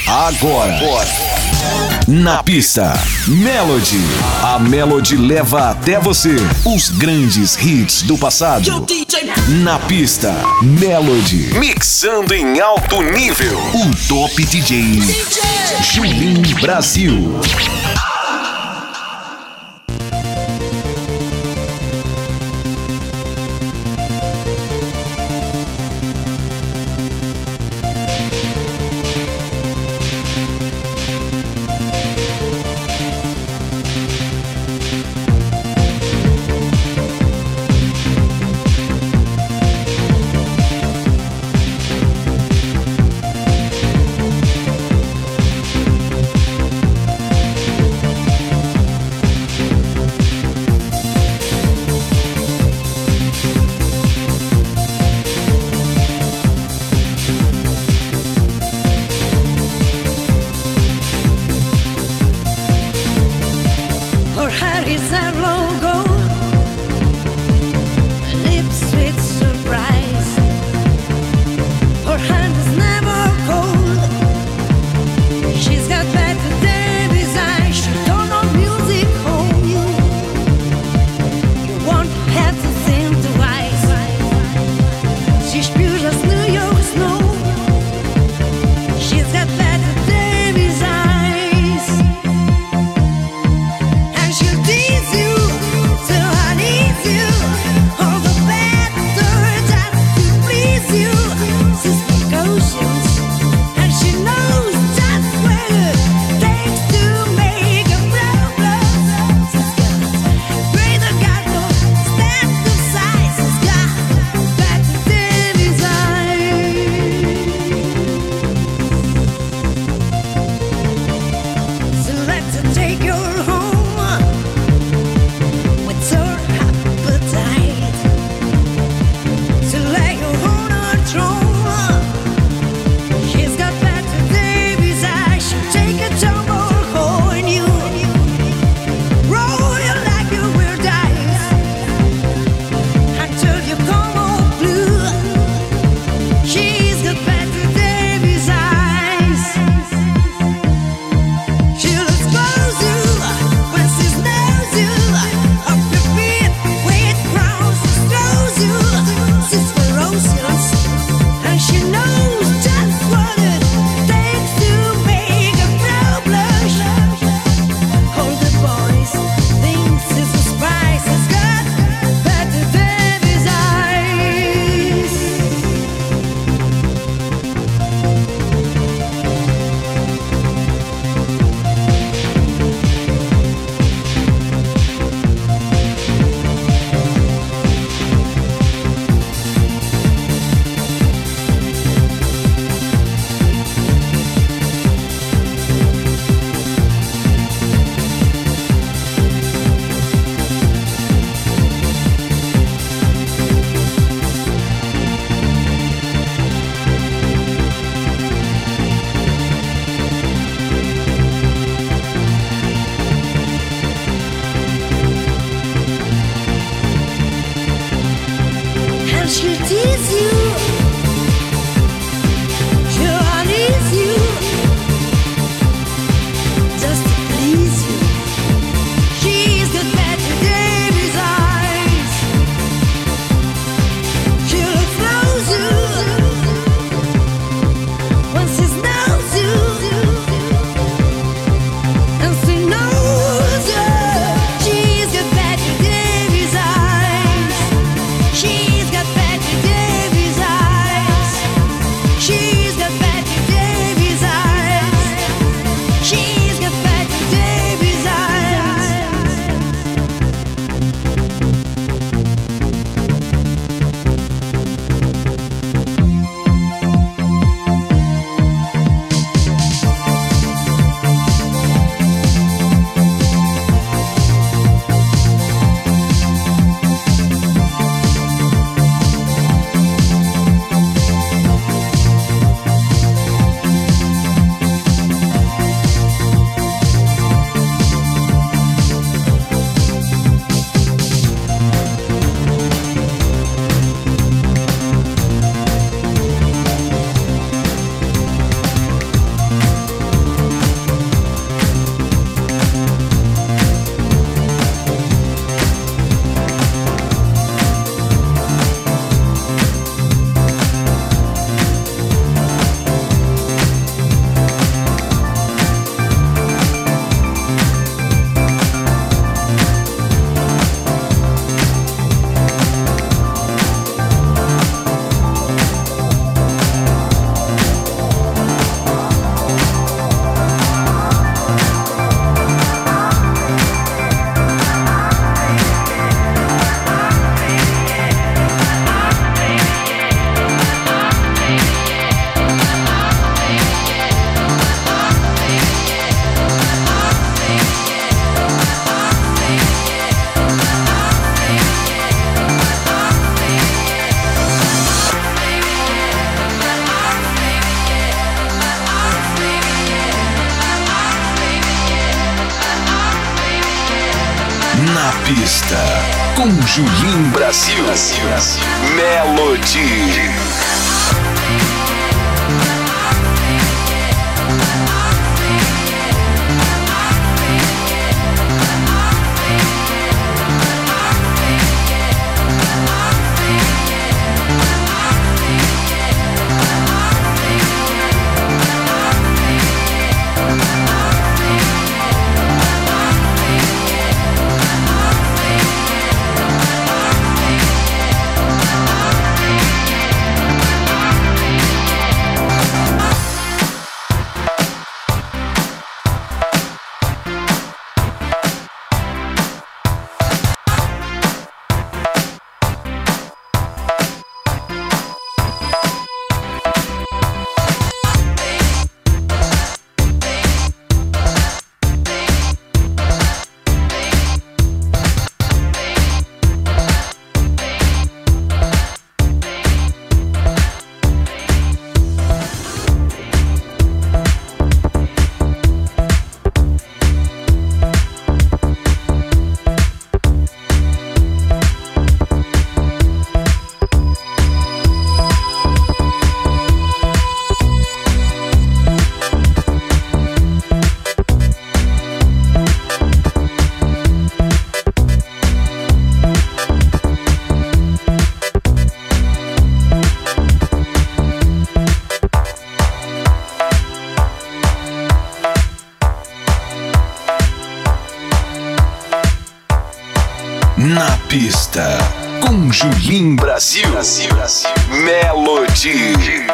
Agora. Na pista, Melody. A Melody leva até você os grandes hits do passado. Na pista, Melody. Mixando em alto nível. O Top DJ Julinho Brasil. Na pista, com Julim Brasil. Melody. Na pista, com Julim Brasil. Melody.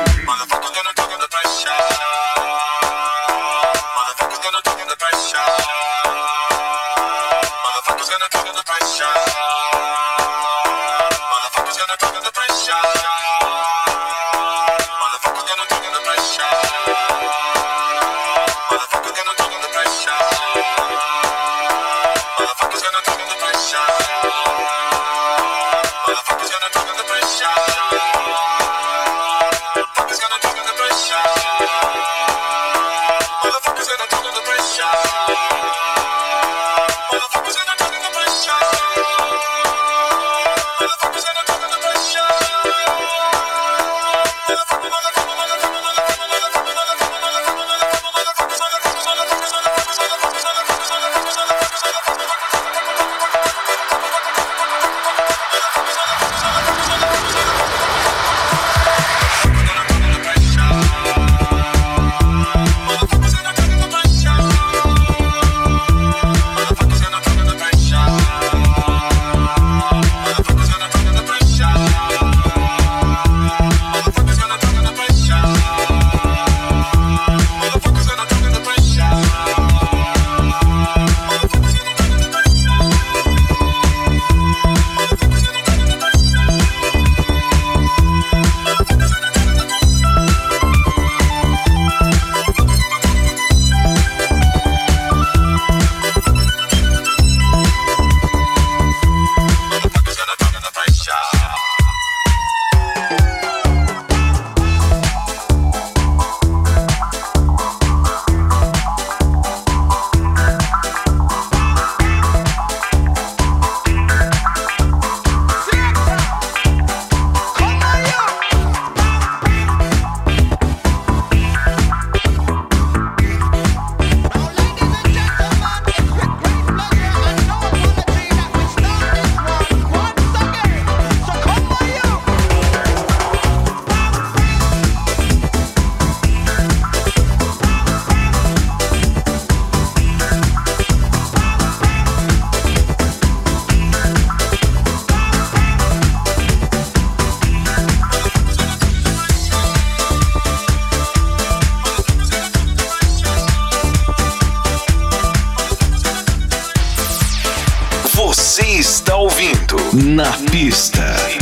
Você está ouvindo Na Pista.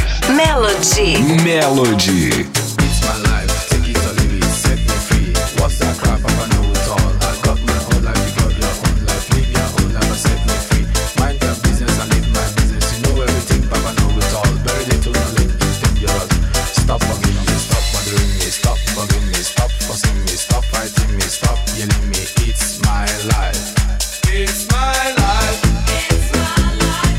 Melody. Melody. It's my life, take it or leave it, set me free. What's that crap? I know it all. I got my own life, you got your own life. Live your own life and set me free. Mind your business and live my business. You know everything, Papa know it all. Very little knowledge is dangerous. Stop bugging me, stop bothering me, stop bugging me, stop fussing me, stop fighting me, stop yelling me. It's my life. It's my life. It's my life.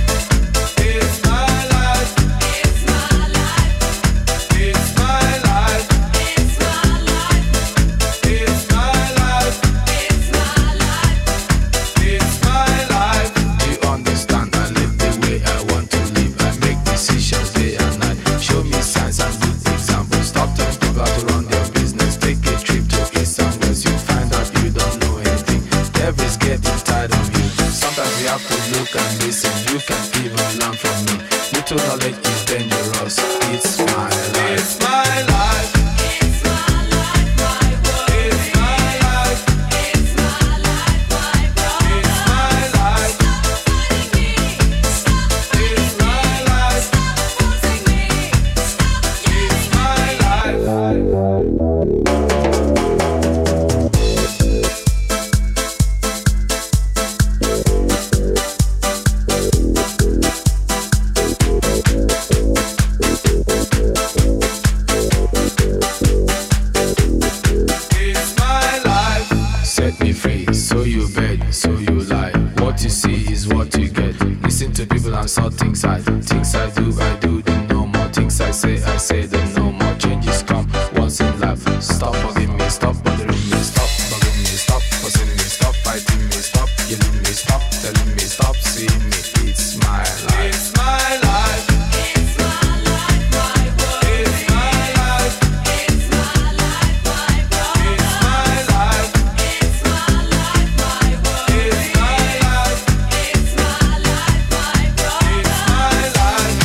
dance, all things I do, then no more. Things I say, then no more. Changes come once in life. Stop bugging me, stop bothering me, stop bugging me, stop fussing me, stop fighting me, stop yelling me, stop telling me, stop seeing me. It's my life. It's my life. It's my life, my world. It's my life. It's my life, my world. It's my life. It's my life, my world. It's my life. It's my life, my world. It's my life.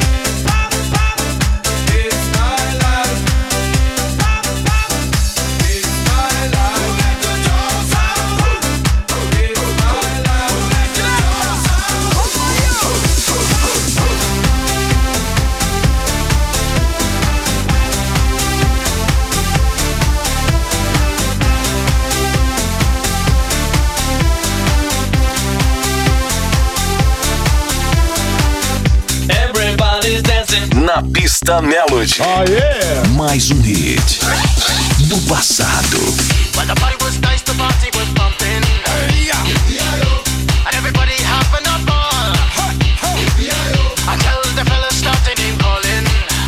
It's my life. It's my life. Let the dogs out. It's my life. Let the dogs Everybody's dancing. Na pista Melody. Mais um hit do passado. When the party was nice, the party was pumping. And everybody having a ball. Until the fellas started name calling.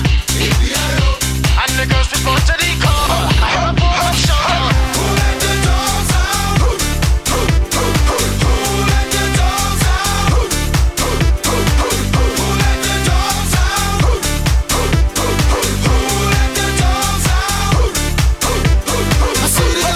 And the girls responded to the call. I heard a boy song. Who let the dogs out? Who let the dogs out? Who let the dogs out? Who let the dogs out? I see the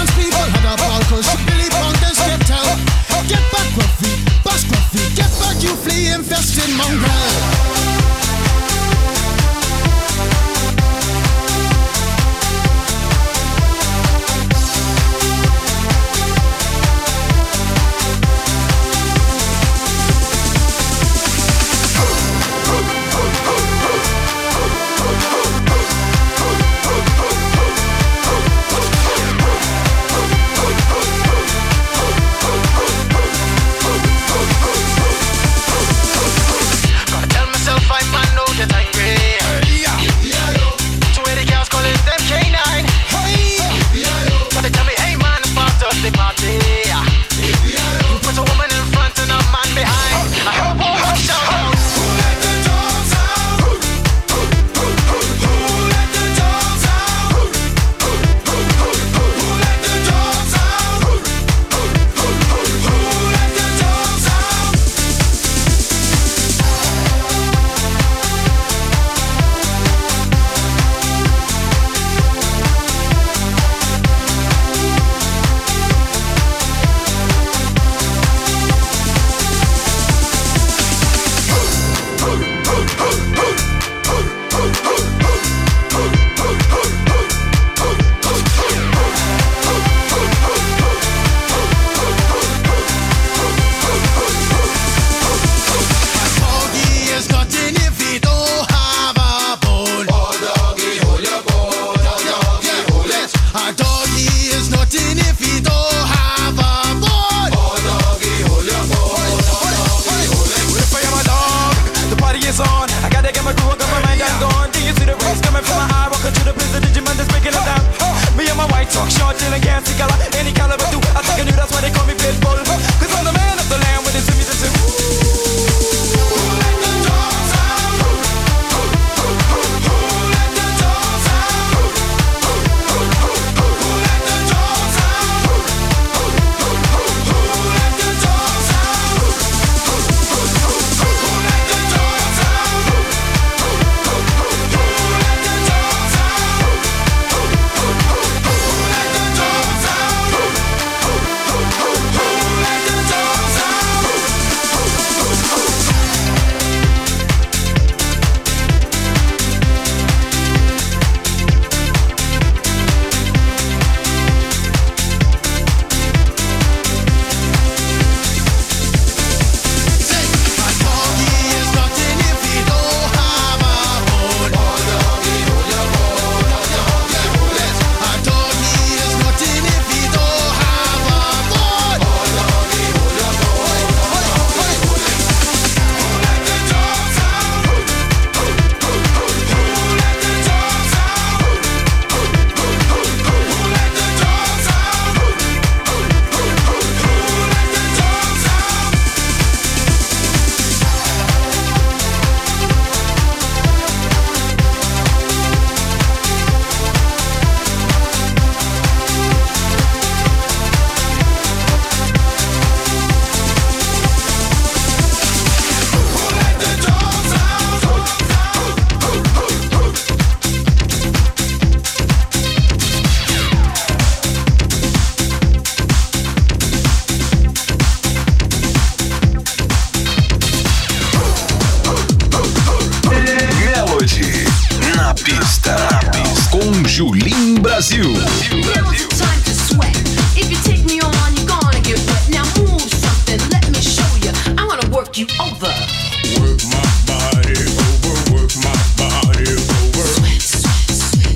Brasil. Now it's time to sweat. If you take me on, you're gonna get wet. Now move something, let me show you. I'm gonna work you over. Work my body over, work my body over. Sweat, sweat, sweat.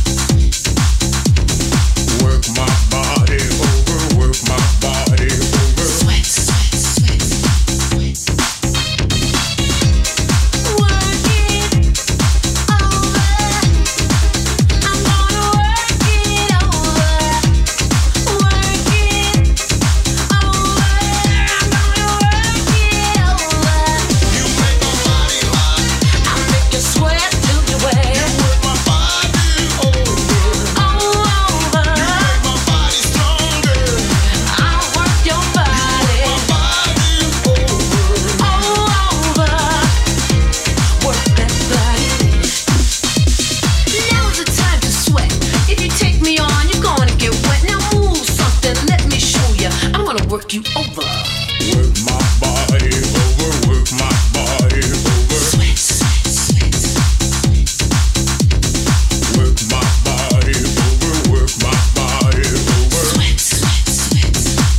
Work my body over, work my body over. Sweat, sweat, sweat, sweat. Work it over. I'm gonna work it over. Work it over. I'm gonna work it over. You make my body hot. I'll make you sweat till you wet. Work my body over. All over. Make my body stronger. I'll work your body. My body over. All over. Work that body. Now's the time to sweat. If you take me on, you're gonna get wet. Now move something, let me show you. I'm gonna work you over. Work my body over, work my body over. Sweat, sweat, sweat. Work my body over, work my body over. Sweat, sweat, sweat.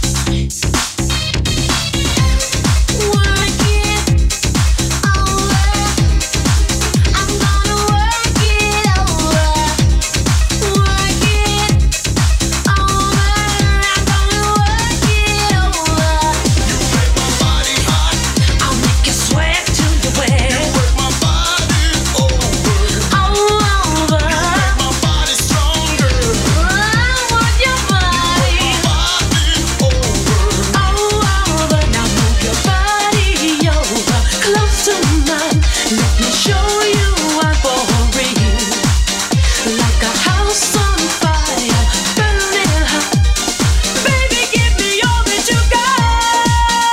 Work it over. I'm gonna work it over. Work it over. I'm gonna work it over. You make my body hot. I'll make you sweat till you wet. Work my body over. All over. Make my body stronger. I want your body. Body over. All over. Now move your body over. Close to mine. Let me show you I'm for real. Like a house on fire, burning hot. Baby, give me all that you got.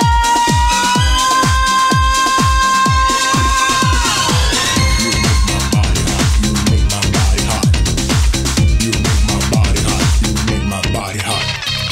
You make my body hot. You make my body hot. You make my body hot.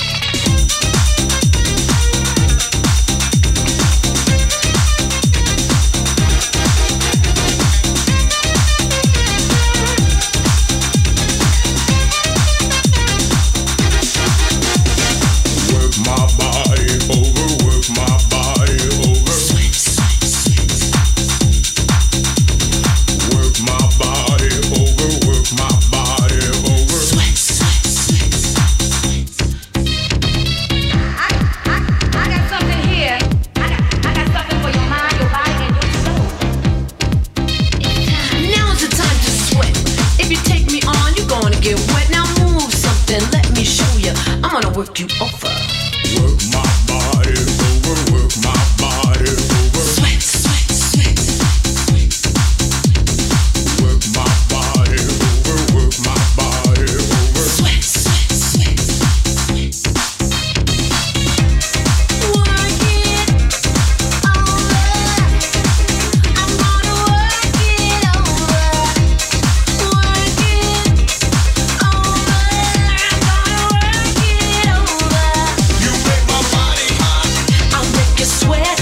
Work my body over, work my body over. Sweat, sweat, sweat. Work my body over, work my body over. Sweat, sweat, sweat. I got something here. I got something for your mind, your body, and your soul. Now's the time to sweat. If you take me on, you're gonna get wet. Now move something, let me show you. I'm gonna work you over. Work my body over, work my body over. Sweat, sweat, sweat. Work my body over, work my body over. Sweat, sweat, sweat. Work it over. I'm gonna work it over. Work it over. I'm gonna work it over. You make my body hot. I'll make you sweat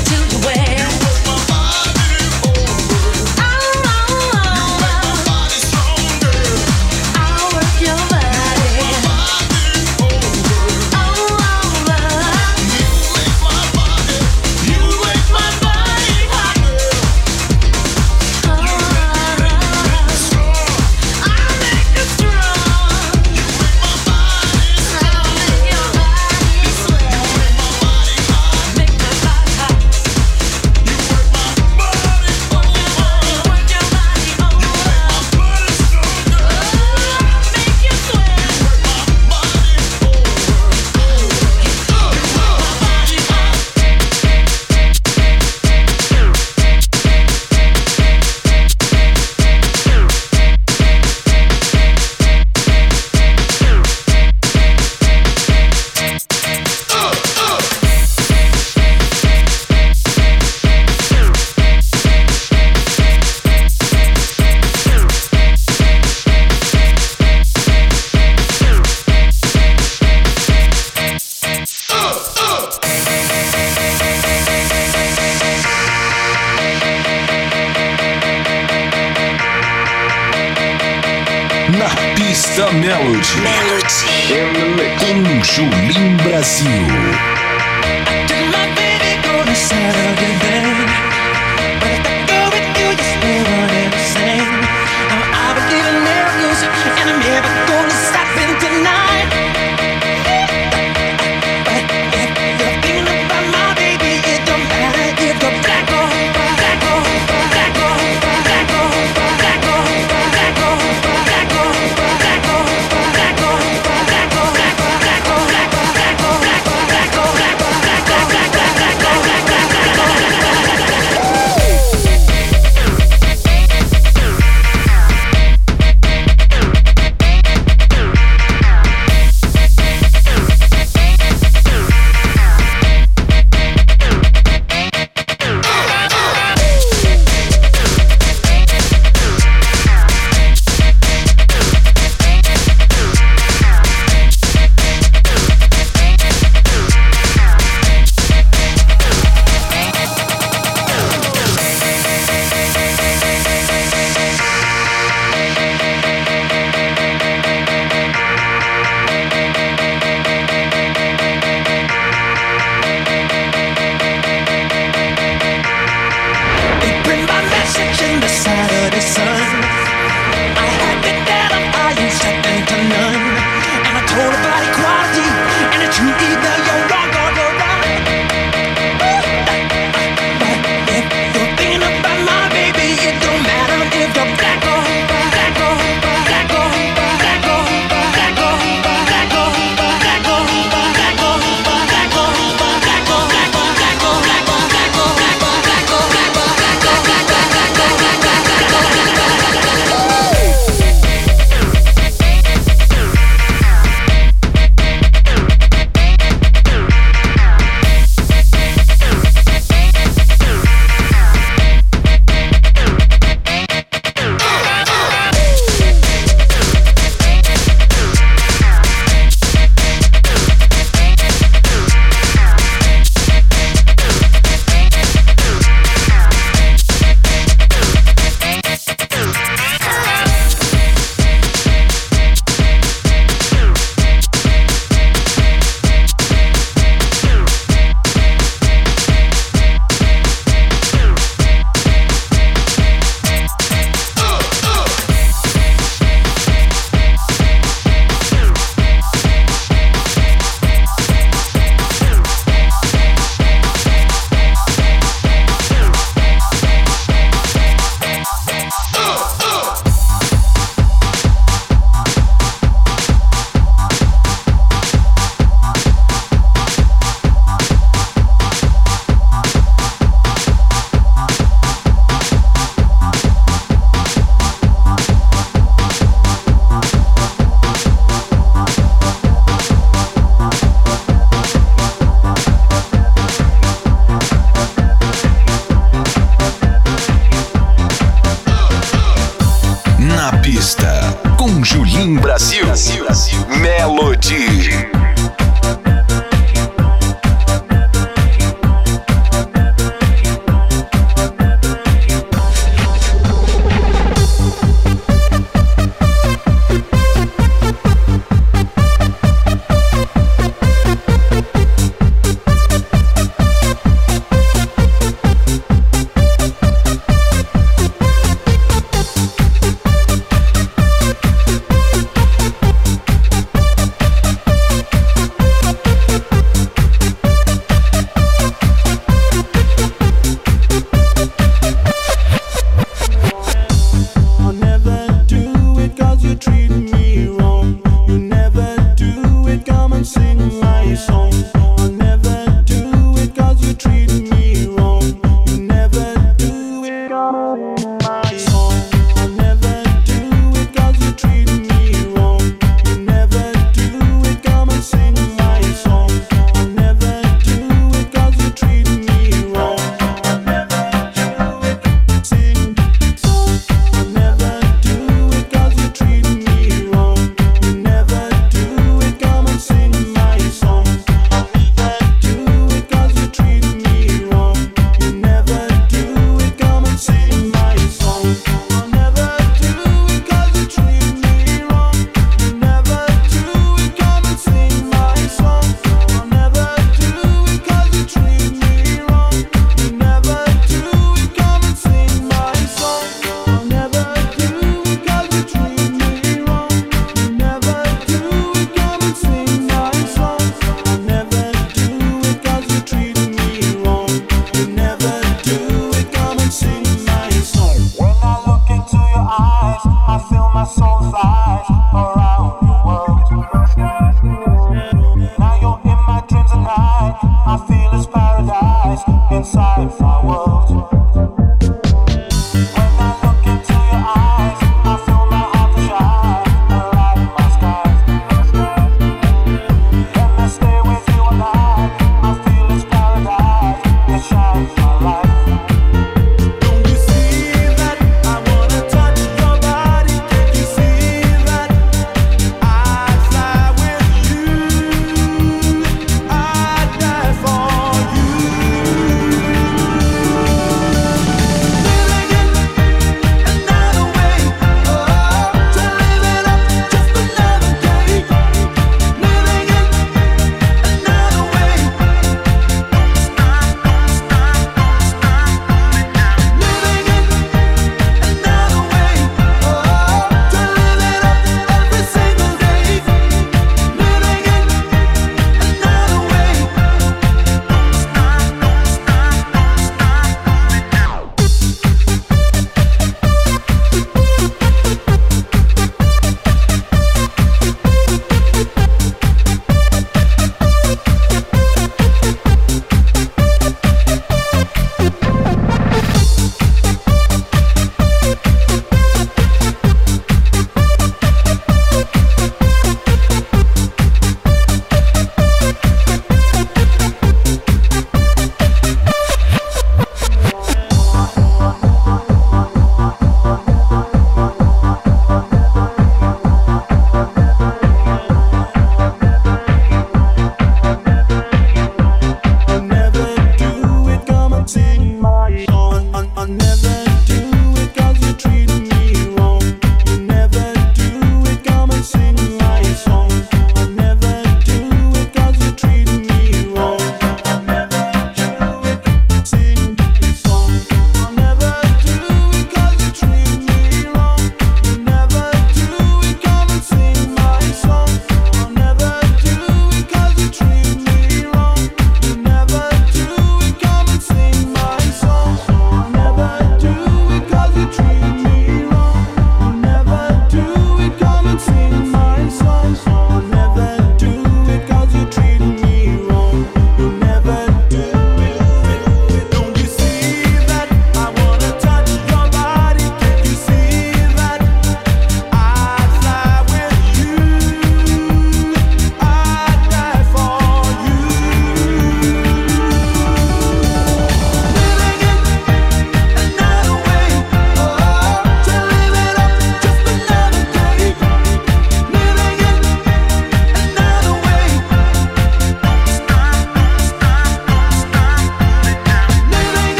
Pista Melody. Com Julim Brasil. Did my baby go to Saturday night? But if I go with you, you still run insane. Now I believe in miracles, and I'm never gonna stop in tonight. But if you're thinking about my baby, it don't matter if you're black or white, black or white, black or white, black or white, black or white, black or white, black or white, black or white, black or white, black or white, black or white, black or white, black or white, black or white. com Julim Brasil. Melody.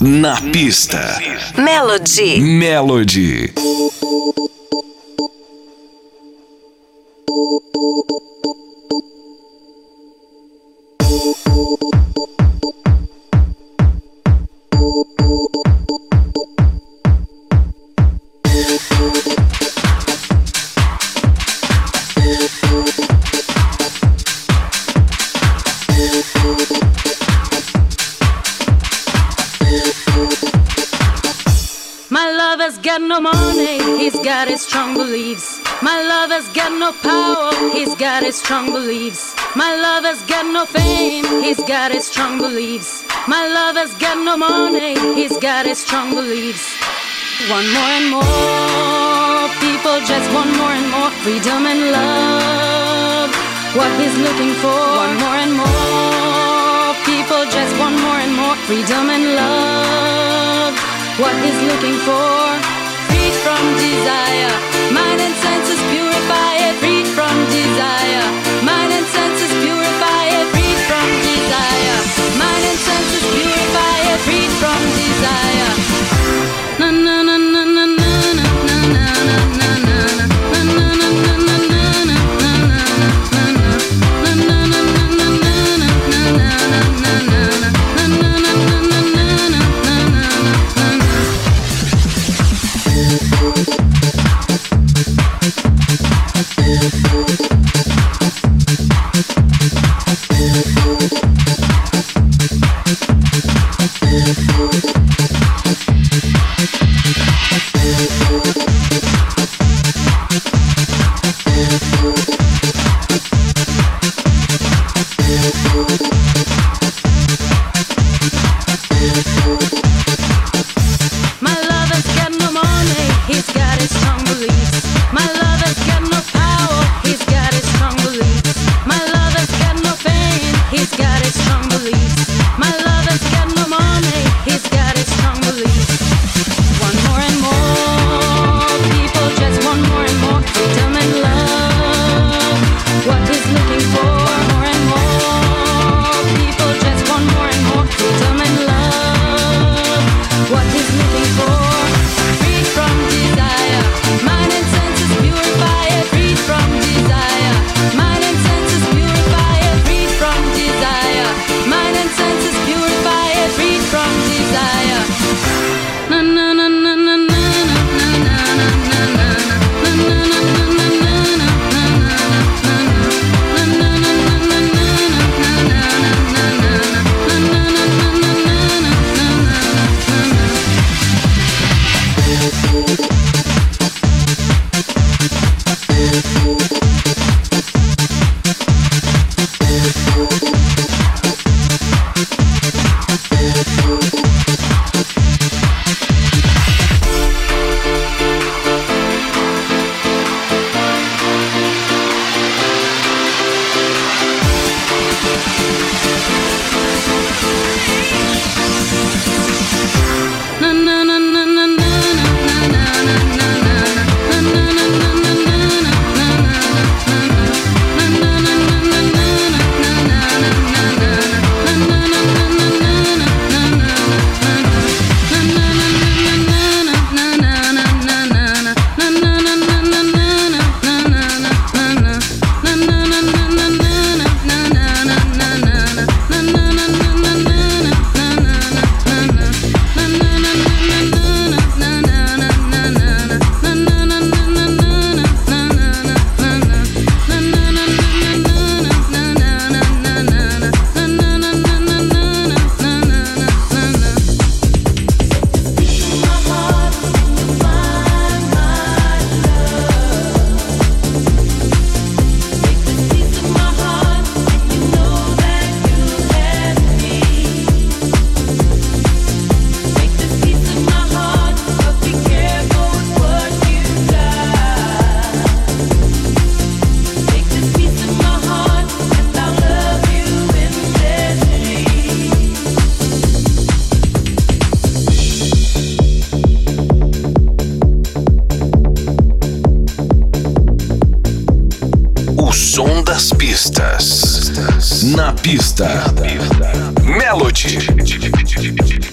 Na pista. Melody. Melody. Got no money, he's got his strong beliefs. My lover's got no power, he's got his strong beliefs. My lover's got no fame, he's got his strong beliefs. My lover's got no money, he's got his strong beliefs. One more and more, people just want more and more freedom and love. What he's looking for, one more and more, people just want more and more freedom and love. What he's looking for, freed from desire, mind and senses purify it, freed from desire, mind and senses purify it, freed from desire, mind and senses purify it, freed from desire. Na na na na na na na na na na na das pistas. Na pista. Melody.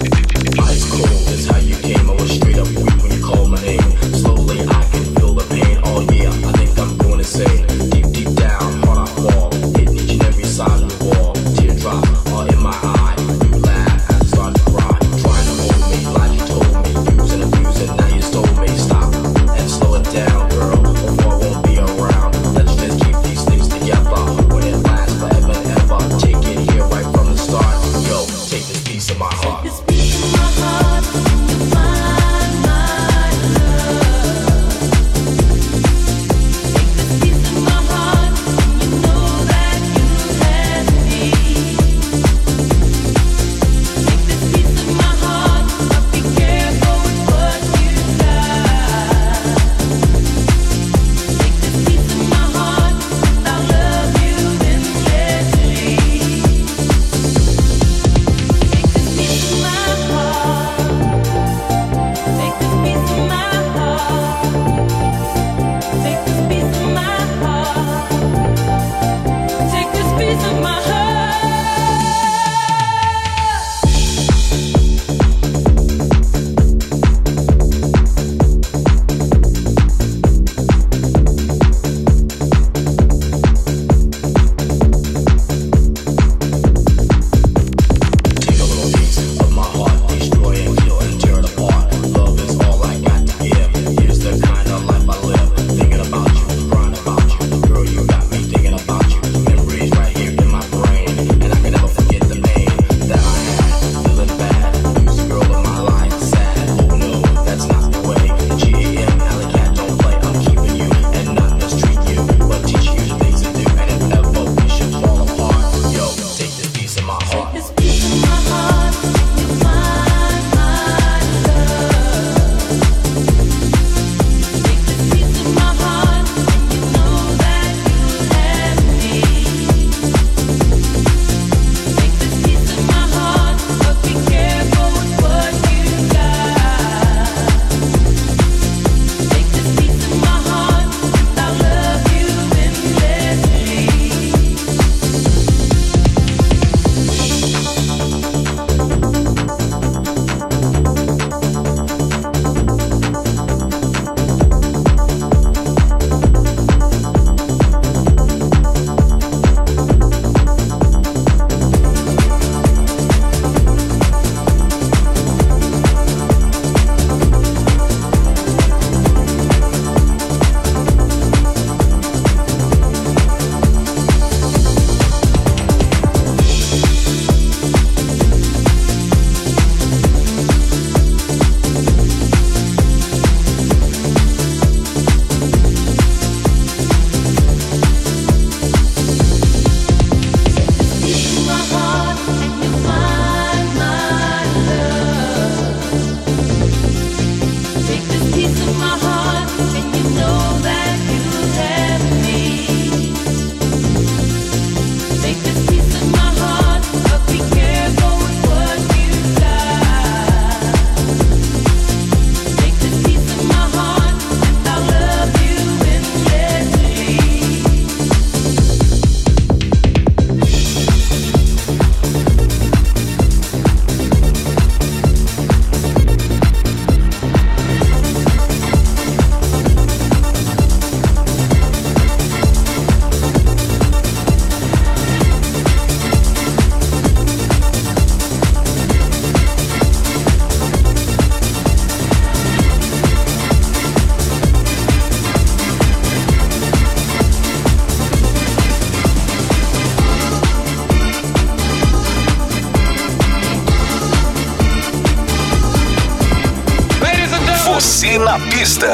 Você na pista.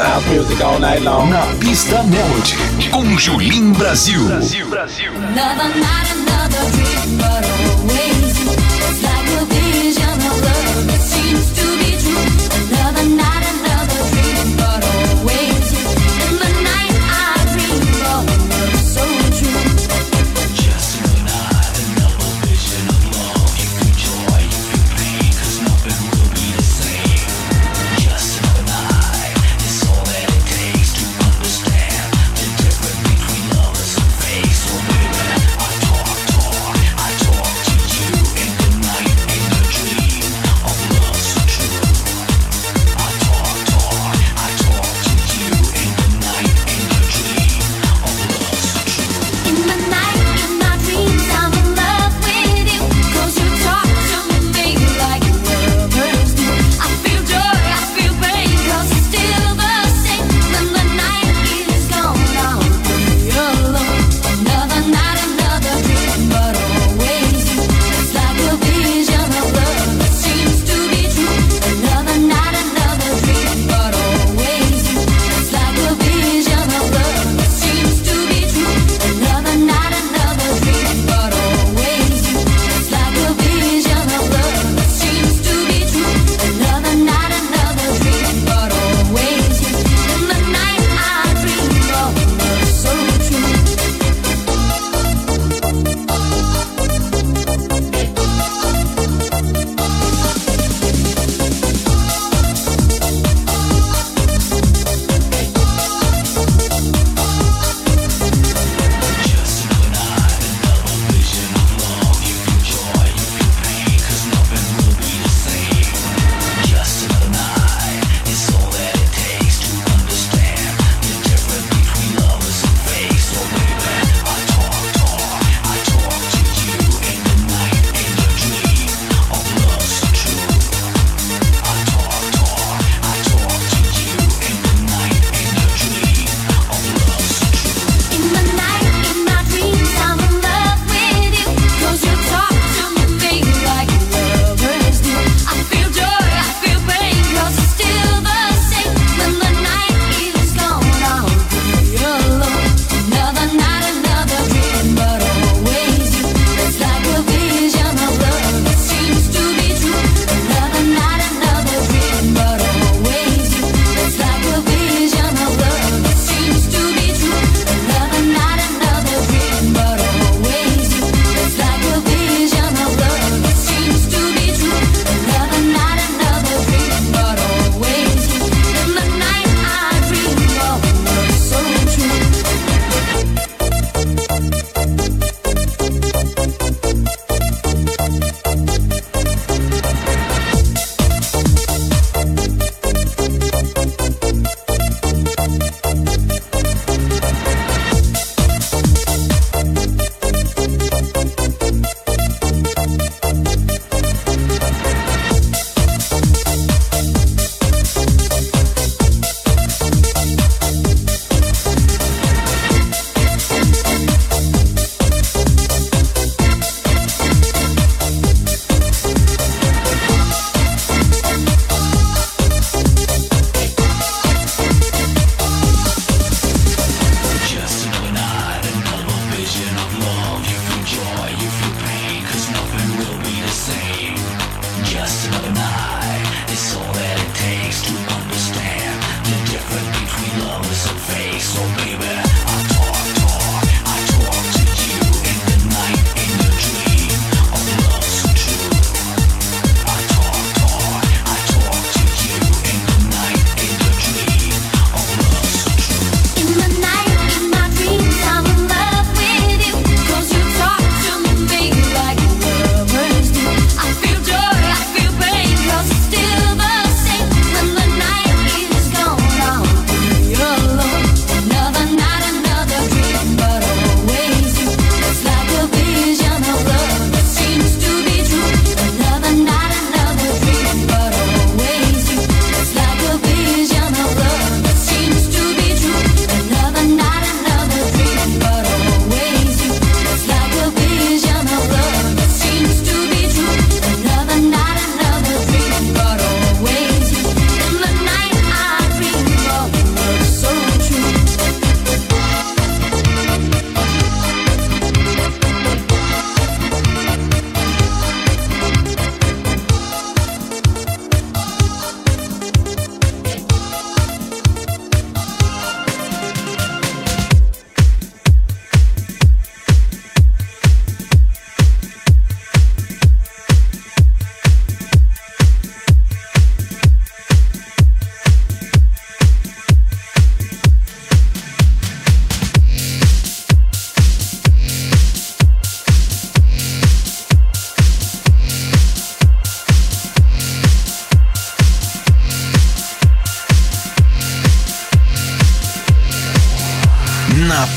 Na pista Melody. Com Julim Brasil. Another night, another dream, but always you. It's like a vision of love that seems to be true. Another night, another dream, but always you. In the night I dream of love so true. Just another night, another vision of love. You feel joy, you feel pain, 'cause nothing will be the same. Just another night, it's all that it takes to understand the difference between lovers and face. So baby, I talk to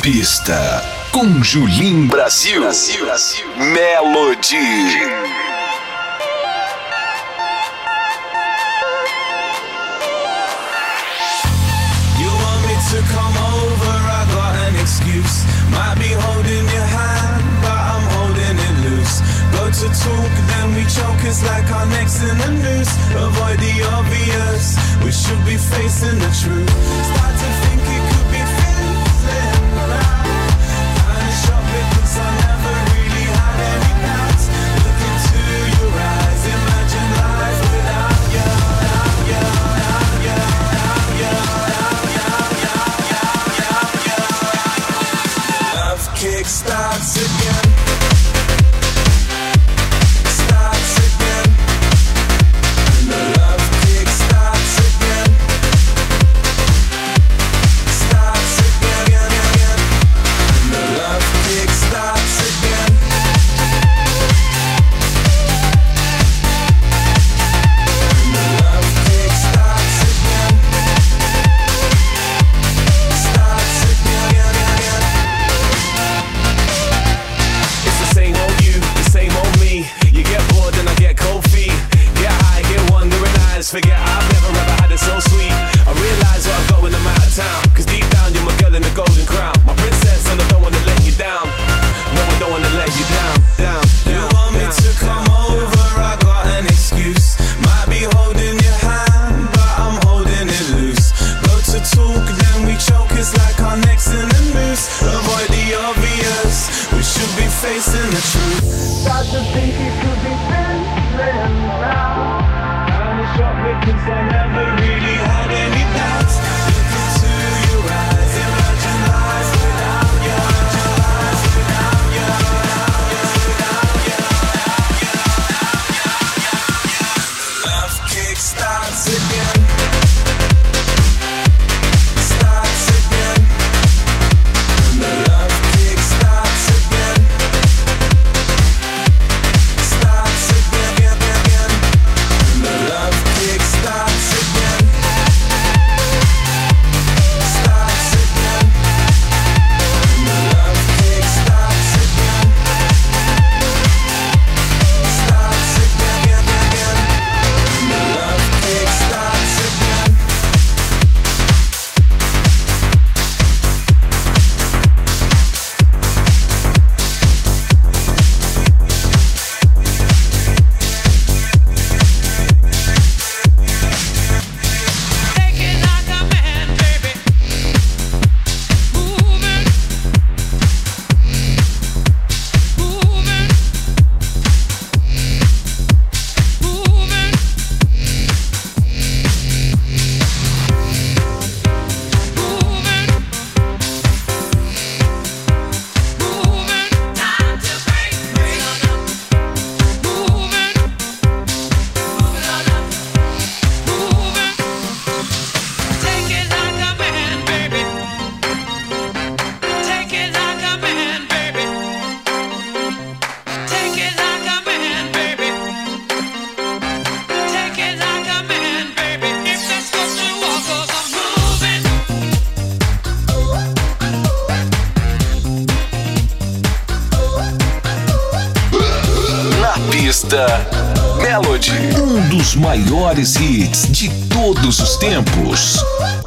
pista com Julim Brasil. Melody. You want me to come over, I got an excuse. Might be holding your hand, but I'm holding it loose. Go to talk, then we choke, it's like our necks in the noose. Avoid the obvious, we should be facing the truth. Start to think it could be fizzling around. Kinda shocked because I never really had any doubts. Look into your eyes, imagine life without you. Love kick starts again. Starts again. And the love kick starts again. Starts again. And the love kick starts again. And the love kick starts again. Starts again. It's the same old you, the same old me. You get bored and I get cold feet. Get high, get wandering eyes. Forget I've never ever had it so sweet. I realize what I've got when I'm out of town. Cause deep down you're my girl in the golden crown. My princess and I don't wanna let you down. No, I don't wanna let you down. You want me to come over, I got an excuse. Might be holding your hand, but I'm holding it loose. Go to talk, then we choke, it's like our necks in a noose. Avoid the obvious, we should be facing the truth. Start to think it could be fizzling around. Kinda shocked because I never really had any doubts. Look into your eyes, imagine life without you. Love kick starts again. Starts again. And the love kick starts again. Starts again. And the love kick starts again. Starts again. And the love kick starts again. Starts again. And the love kick starts again. Take it like a man, baby. Moving, moving, moving. Time to break free. Moving, moving. Take it like a man, baby. Take it like a man, baby. Take it like a man, baby. Take it like a man, baby. If that's what you want, 'cause I'm moving. Na pista, Melody. Dos maiores hits de todos os tempos.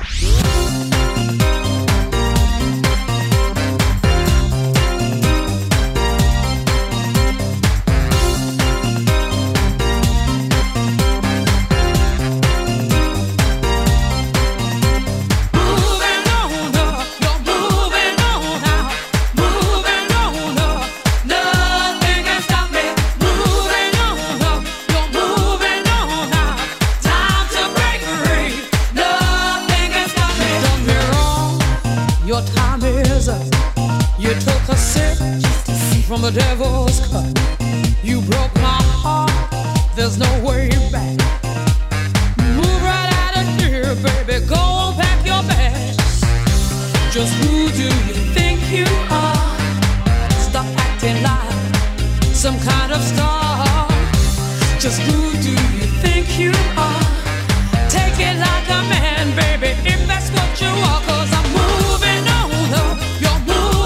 Moving on up, you're moving on out. Moving on up, nothing can stop me. Moving on up, you're moving on out. Time to break free. Nothing can stop me. Done me wrong, your time is up. You took a sip from the devil's cup. You broke my heart. There's no way back. Move right out of here, baby. Go pack your bags. Just who do you think you are? Stop acting like some kind of star. Just who do you think you are? Take it like a man, baby, if that's what you are. 'Cause I'm moving on up, you're moving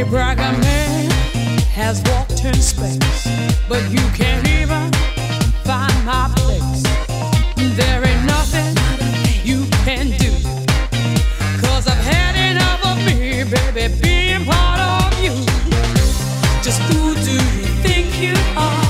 bragger man has walked in space, but you can't even find my place. There ain't nothing you can do, 'cause I've had enough of me, baby, being part of you. Just who do you think you are?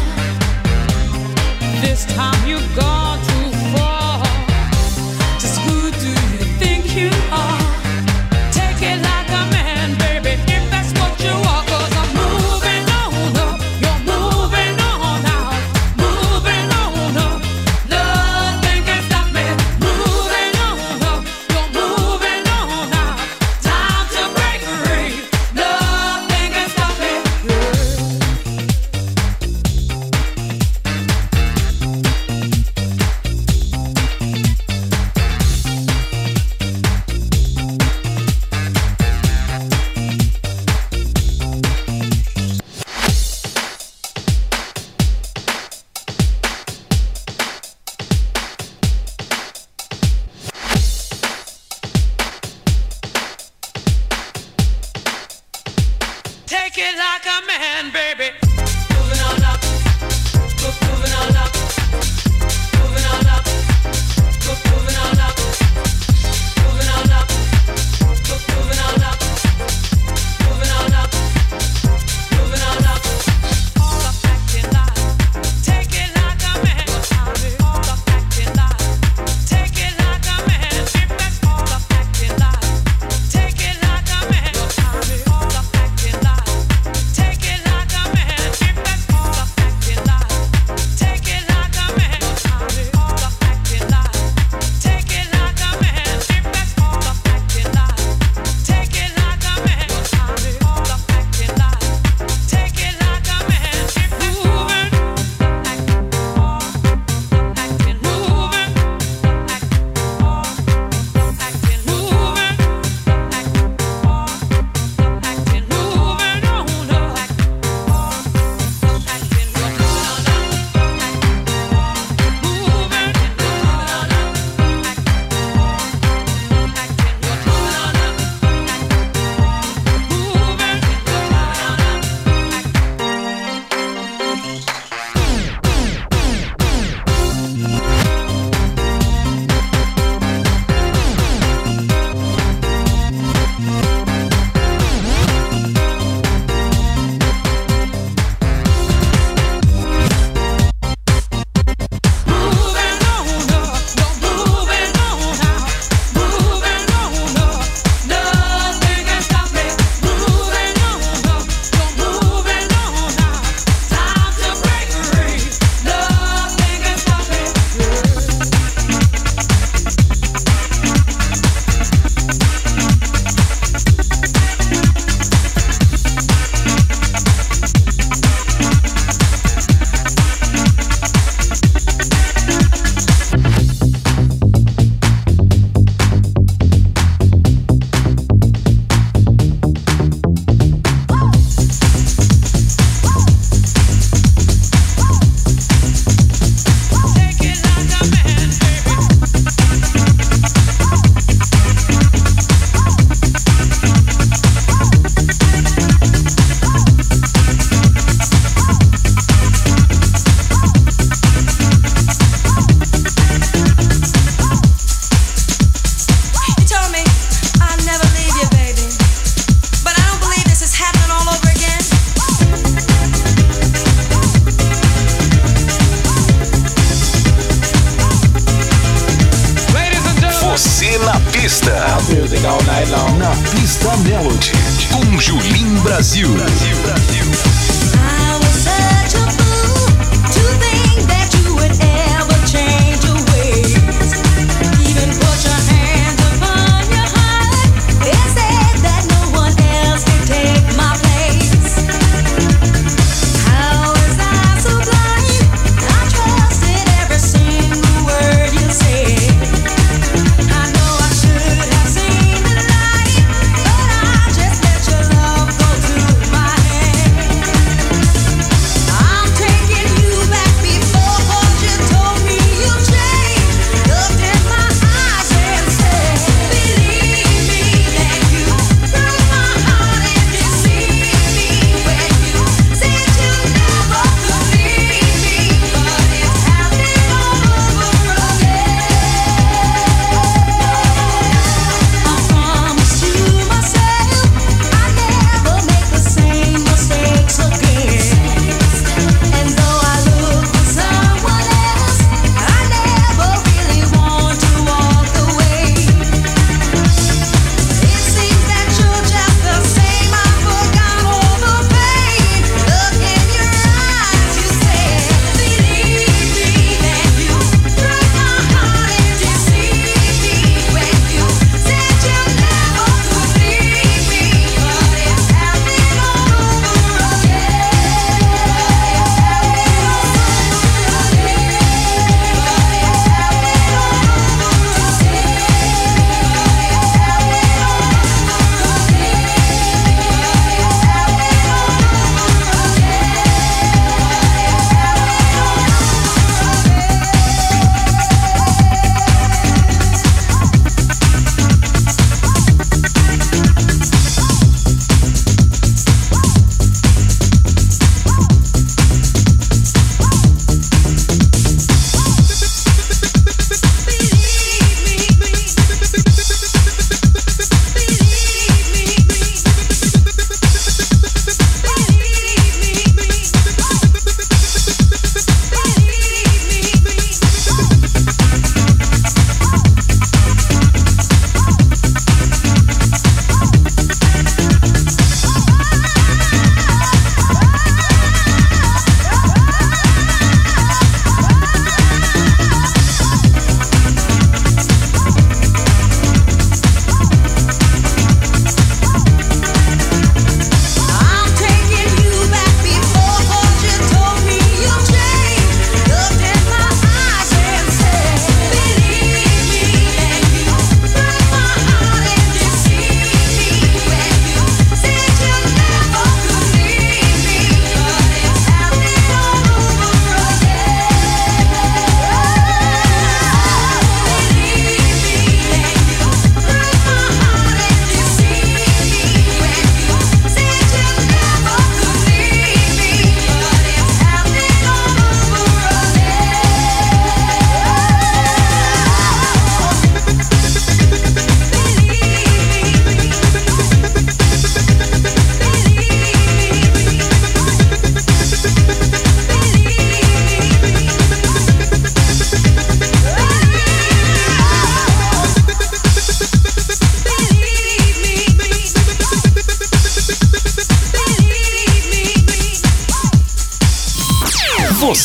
This time you've gone too far. Just who do you think you are? Take it like a man, baby, if that's what you are. 'Cause I'm moving on up, you're moving on out, moving on up. Nothing can stop me. Moving on up, you're moving on out. Time to break free. Nothing can stop me. Take it like a man, baby. Moving on up, moving on up, moving on up, moving on up, moving on up, moving on up, moving on up, moving on up. All up acting like, take it like a man. All up acting like, take it like a man. If that's all up acting like, take it like a man. All up acting like, take it like a man. If that's all up acting like, take it like a man. All up acting like, take it like a man. If that's all up acting like, take it like a man. All up acting like, take it like a man. If that's moving, acting moving, acting moving, acting moving on up, acting moving on up, nothing can stop me. Moving on up, you're moving on out. Time to break free. Nothing can stop me. Take it like a man, baby. You told me I'd never leave you, baby, but I don't believe this is happening all over again. Ladies and gentlemen, Você na pista. Music all night long. Na pista Melody. Com Julim Brasil. I was such a fool to think that you would ever change your ways. Even put your hands upon your heart and said that no one else can take my place. How was I so blind? I trusted every single word you said. I know I should have seen the light, but I just let your love go to my head.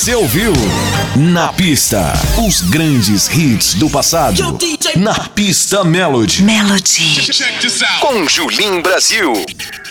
Você ouviu Na Pista, os grandes hits do passado. Na Pista Melody. Melody. Com Julim Brasil.